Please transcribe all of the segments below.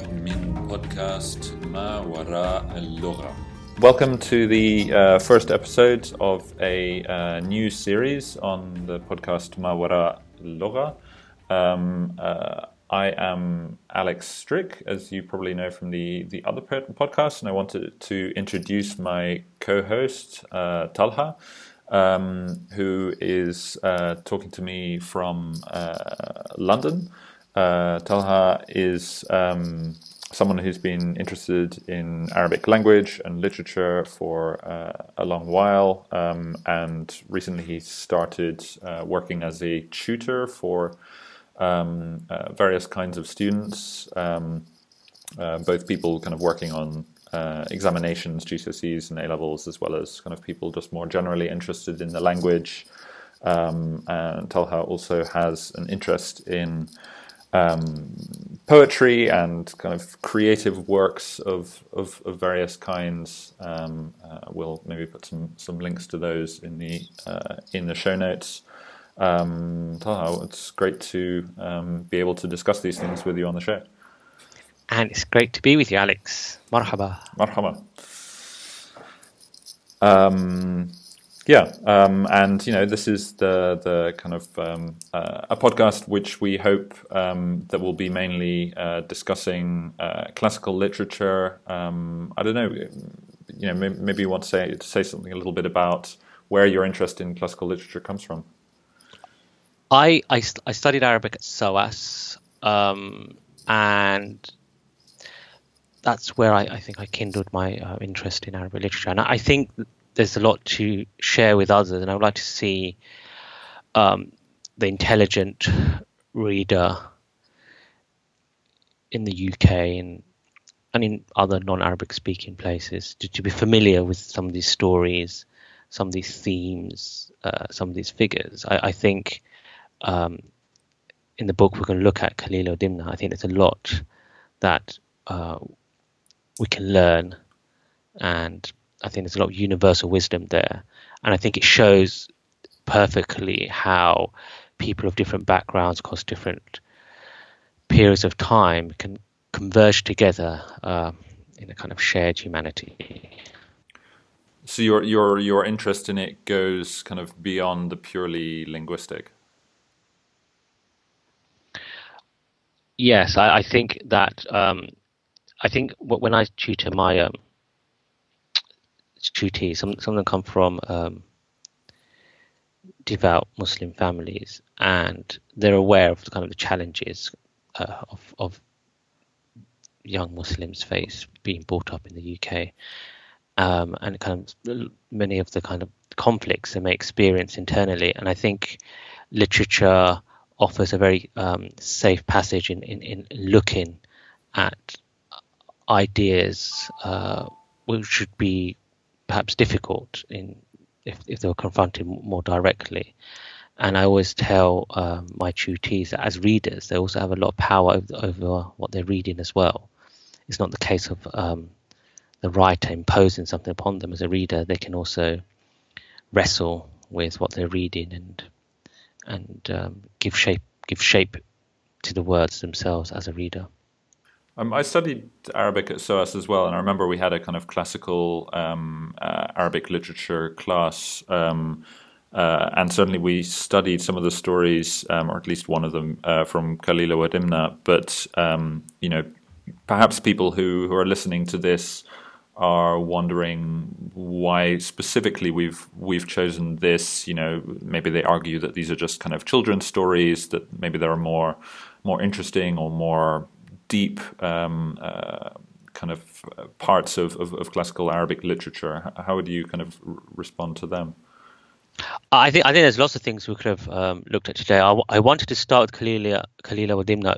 من بودكاست ما وراء اللغة. Welcome to the first episode of a new series on the podcast Ma Wara Lugha. I am Alex Strick, as you probably know from the other podcast, and I wanted to introduce my co-host, Talha, who is talking to me from London. Talha is someone who's been interested in Arabic language and literature for a long while, and recently he started working as a tutor for various kinds of students, both people kind of working on examinations, GCSEs and A-levels, as well as kind of people just more generally interested in the language. And Talha also has an interest in poetry and kind of creative works of various kinds. We'll maybe put some links to those in the show notes. Talha, it's great to be able to discuss these things with you on the show. And it's great to be with you, Alex. Marhaba. Marhaba. And this is the kind of a podcast which we hope that will be mainly discussing classical literature. I don't know, maybe you want to say something a little bit about where your interest in classical literature comes from. I studied Arabic at SOAS, and that's where I think I kindled my interest in Arabic literature. And I think there's a lot to share with others, and I would like to see the intelligent reader in the UK and in other non-Arabic speaking places to be familiar with some of these stories, some of these themes, some of these figures. I think in the book we're going to look at Khalil Dimna. I think there's a lot that we can learn, and I think there's a lot of universal wisdom there. And I think it shows perfectly how people of different backgrounds across different periods of time can converge together in a kind of shared humanity. So your interest in it goes kind of beyond the purely linguistic. Yes, I think that I think when I tutor my tutees, some of them come from devout Muslim families, and they're aware of the kind of the challenges of young Muslims face being brought up in the UK, and kind of many of the kind of conflicts they may experience internally. And I think literature offers a very safe passage in looking at ideas which should be perhaps difficult if they were confronted more directly. And I always tell my tutees that as readers, they also have a lot of power over what they're reading as well. It's not the case of the writer imposing something upon them. As a reader, they can also wrestle with what they're reading and give shape to the words themselves as a reader. I studied Arabic at SOAS as well, and I remember we had a kind of classical Arabic literature class, and certainly we studied some of the stories, or at least one of them, from Khalil Dimna. But perhaps people who are listening to this are wondering why specifically we've chosen this. Maybe they argue that these are just kind of children's stories, that maybe there are more interesting or more deep kind of parts of classical Arabic literature. How would you kind of respond to them? I think there's lots of things we could have looked at today. I wanted to start with Khalil Dimna.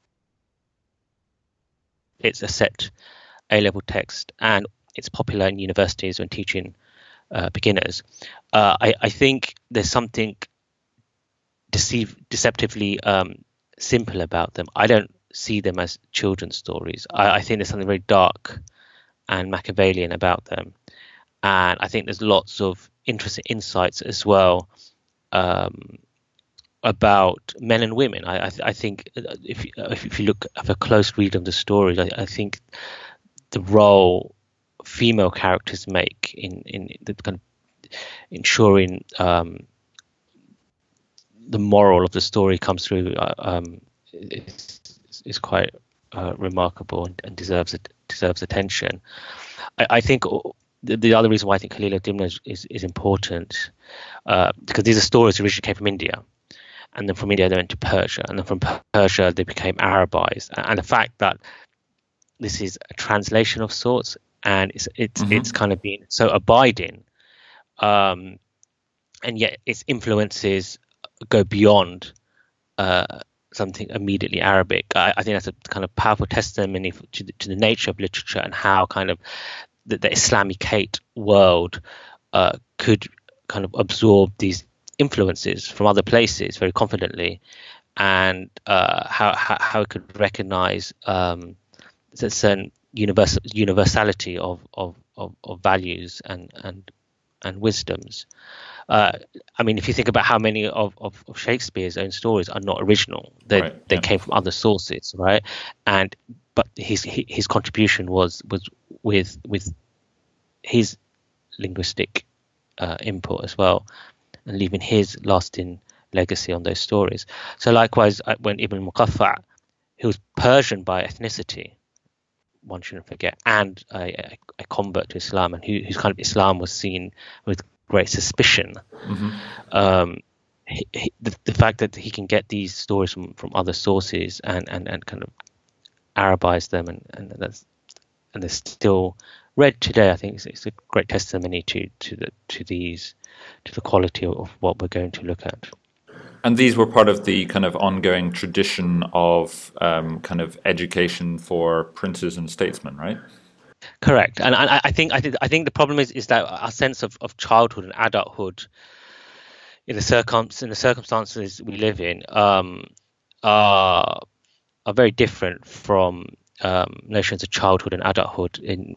It's a set A-level text, and it's popular in universities when teaching beginners. I think there's something deceptively simple about them. I don't see them as children's stories. I think there's something very dark and Machiavellian about them, and I think there's lots of interesting insights as well about men and women. I think if you look at a close read of the stories, I think the role female characters make in the kind of ensuring the moral of the story comes through is quite remarkable and deserves attention. I think the other reason why I think Khalil Dimna is important because these are stories that originally came from India, and then from India they went to Persia, and then from Persia they became Arabized, and the fact that this is a translation of sorts, and it's kind of been so abiding, and yet its influences go beyond something immediately Arabic. I think that's a kind of powerful testimony to the nature of literature and how kind of the Islamicate world could kind of absorb these influences from other places very confidently, and how it could recognize a certain universality of values and wisdoms. I mean, if you think about how many of Shakespeare's own stories are not original, they came from other sources, right? But his contribution was with his linguistic input as well, and leaving his lasting legacy on those stories. So likewise, when Ibn Muqaffa, who was Persian by ethnicity, one shouldn't forget, and a convert to Islam, and whose kind of Islam was seen with great suspicion. The fact that he can get these stories from other sources and kind of Arabize them, and they're still read today, I think it's a great testimony to the quality of what we're going to look at. And these were part of the kind of ongoing tradition of kind of education for princes and statesmen, right? Correct, and I think the problem is that our sense of childhood and adulthood in the circumstances we live in are very different from notions of childhood and adulthood in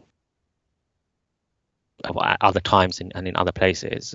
other times and in other places.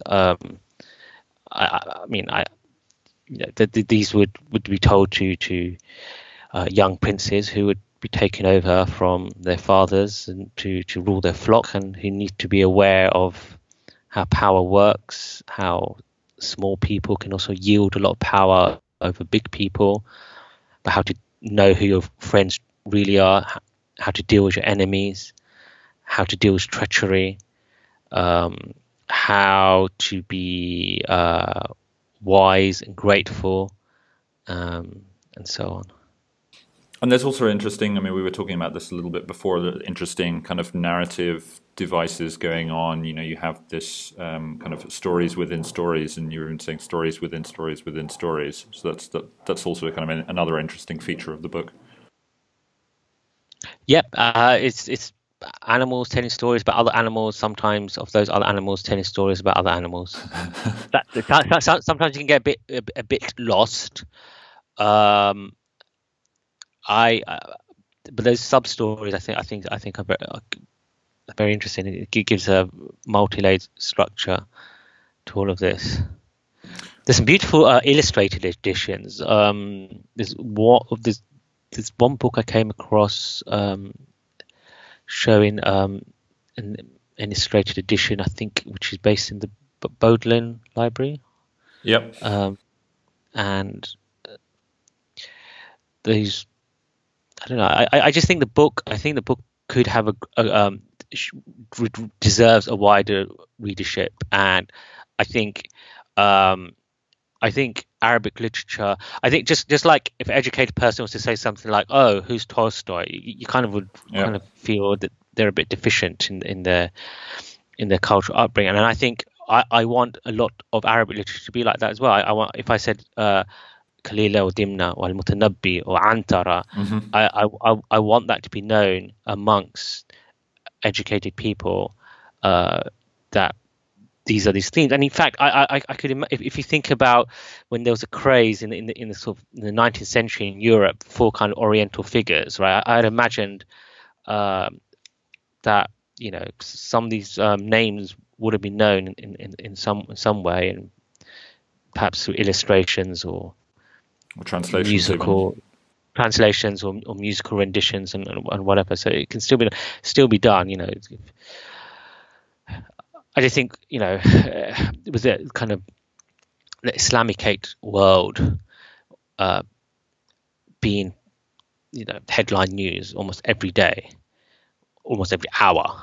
These would be told to young princes who would be taken over from their fathers and to rule their flock, and who need to be aware of how power works, how small people can also yield a lot of power over big people, but how to know who your friends really are, how to deal with your enemies, how to deal with treachery, how to be wise and grateful, and so on. And there's also interesting, I mean, we were talking about this a little bit before, the interesting kind of narrative devices going on. You know, you have this kind of stories within stories, and you're even saying stories within stories within stories. So that's also kind of another interesting feature of the book. Yep, it's animals telling stories about other animals, sometimes of those other animals telling stories about other animals. Sometimes you can get a bit lost. But those sub stories, I think are very interesting. It gives a multi-layered structure to all of this. There's some beautiful illustrated editions. There's one book I came across showing an illustrated edition, I think, which is based in the Bodleian Library. Yep. And these, I don't know. I just think the book could have deserves a wider readership, and I think Arabic literature. I think just like if an educated person was to say something like, "Oh, who's Tolstoy?" you kind of would kind of feel that they're a bit deficient in their cultural upbringing, and I think I want a lot of Arabic literature to be like that as well. I want, if I said Khalil or Dimna or Al-Mutanabbi or Antara, I want that to be known amongst educated people that these are these themes. And in fact, I could if you think about when there was a craze in the sort of in the 19th century in Europe for kind of Oriental figures, right? I had imagined that, you know, some of these names would have been known in some way, and perhaps through illustrations or translations, musical translations or musical renditions and whatever. So it can still be done. I just think it was a kind of the Islamicate world being headline news almost every day, almost every hour.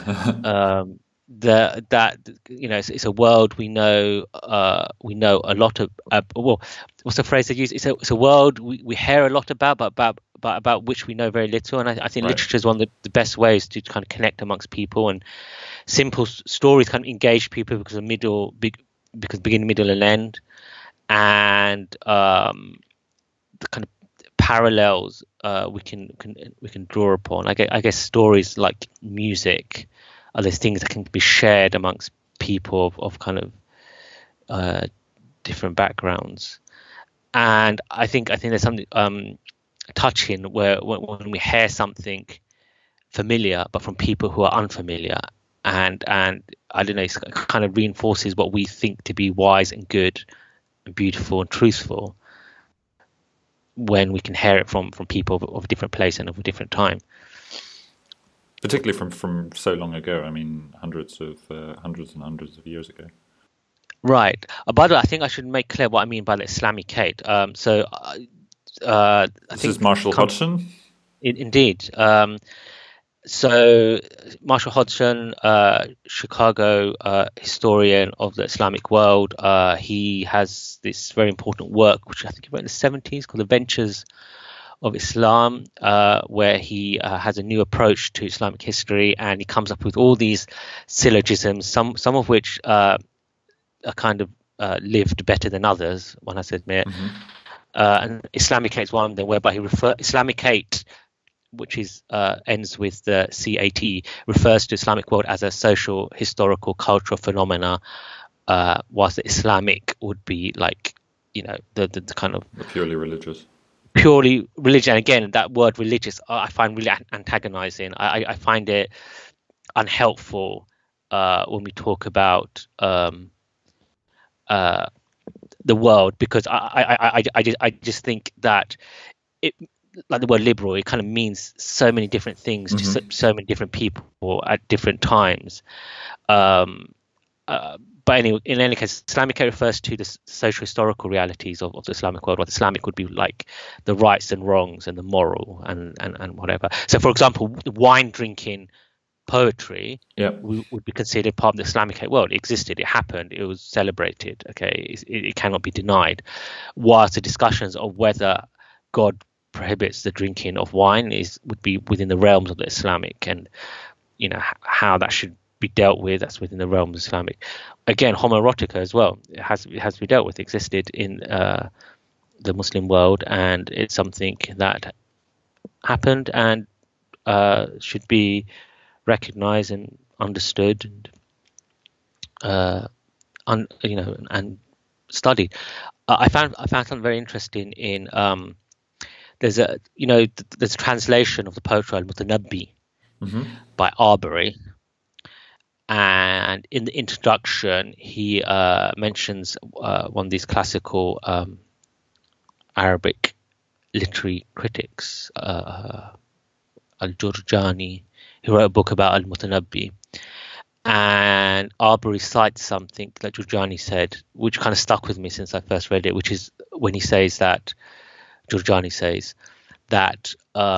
It's a world we know a lot of. Well, what's the phrase they use? It's a world we hear a lot about, but about which we know very little. And I think literature is one of the best ways to kind of connect amongst people, and simple stories kind of engage people because beginning, middle, and end, and the kind of parallels we can draw upon. I guess stories like music are those things that can be shared amongst people of kind of different backgrounds. And I think there's something touching where when we hear something familiar but from people who are unfamiliar, and I don't know, it kind of reinforces what we think to be wise and good and beautiful and truthful when we can hear it from people of a different place and of a different time. Particularly from so long ago. I mean, hundreds and hundreds of years ago. Right. By the way, I think I should make clear what I mean by the Islamicate. This is Marshall Hodgson? Indeed. So Marshall Hodgson, Chicago historian of the Islamic world, he has this very important work, which I think he wrote in the 70s, called The Ventures of Islam, where he has a new approach to Islamic history, and he comes up with all these syllogisms, some of which are kind of lived better than others, one has to admit. Mm-hmm. And Islamicate is one of them, whereby he Islamicate, which is ends with the CAT, refers to Islamic world as a social, historical, cultural phenomena, whilst the Islamic would be like, the kind of purely religious. Purely religion. Again, that word religious I find really antagonizing. I find it unhelpful when we talk about the world, because I just think that it, like the word liberal, it kind of means so many different things to so many different people at different times. But anyway, in any case, Islamicate refers to the social historical realities of the Islamic world. What Islamic would be like the rights and wrongs and the moral and whatever. So, for example, wine drinking poetry would be considered part of the Islamicate world. It existed, it happened, it was celebrated. Okay, it cannot be denied. Whilst the discussions of whether God prohibits the drinking of wine would be within the realms of the Islamic, and how that should be dealt with, that's within the realm of Islamic. Again, homoerotica as well, it has to be dealt with, existed in the Muslim world, and it's something that happened and should be recognized and understood and studied. I found something very interesting in there's a translation of the poetry Al-Mutanabbi by Arbery. And in the introduction, he mentions one of these classical Arabic literary critics, Al-Jurjani, who wrote a book about Al-Mutanabbi. And Arbery cites something that Jurjani said, which kind of stuck with me since I first read it, which is when he says that, Jurjani says that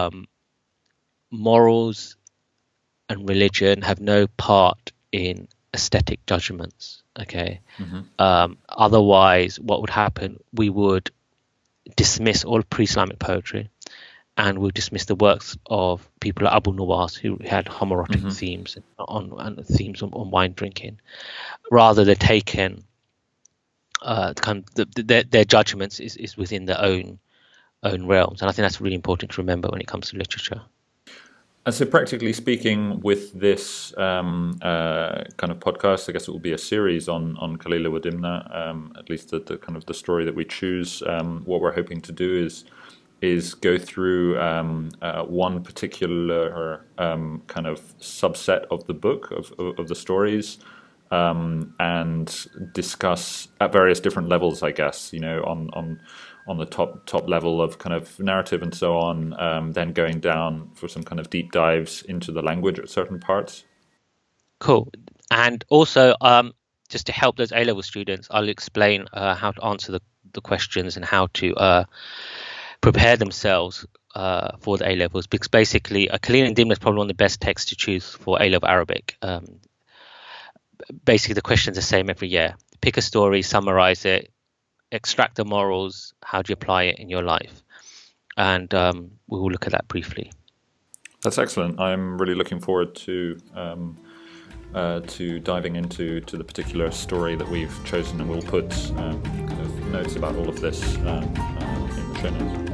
morals and religion have no part in aesthetic judgments. Okay. Otherwise, what would happen? We would dismiss all pre-Islamic poetry, and we'll dismiss the works of people like Abu Nuwas, who had homoerotic themes and themes on wine drinking, rather than taking kind of their judgments is within their own realms. And I think that's really important to remember when it comes to literature. And so, practically speaking, with this kind of podcast, I guess it will be a series on Kalila wa Dimna. At least the kind of the story that we choose. What we're hoping to do is go through one particular kind of subset of the book of the stories, and discuss at various different levels, I guess, on the top level of kind of narrative and so on, then going down for some kind of deep dives into the language at certain parts. Cool. And also, just to help those A-level students, I'll explain how to answer the questions and how to prepare themselves for the A-levels, because basically Qalil and Dimna is probably one of the best texts to choose for A-level Arabic. Basically, the question's the same every year. Pick a story, summarize it, extract the morals, how do you apply it in your life? And we will look at that briefly. That's excellent. I'm really looking forward to diving into the particular story that we've chosen, and we'll put kind of notes about all of this in the show notes.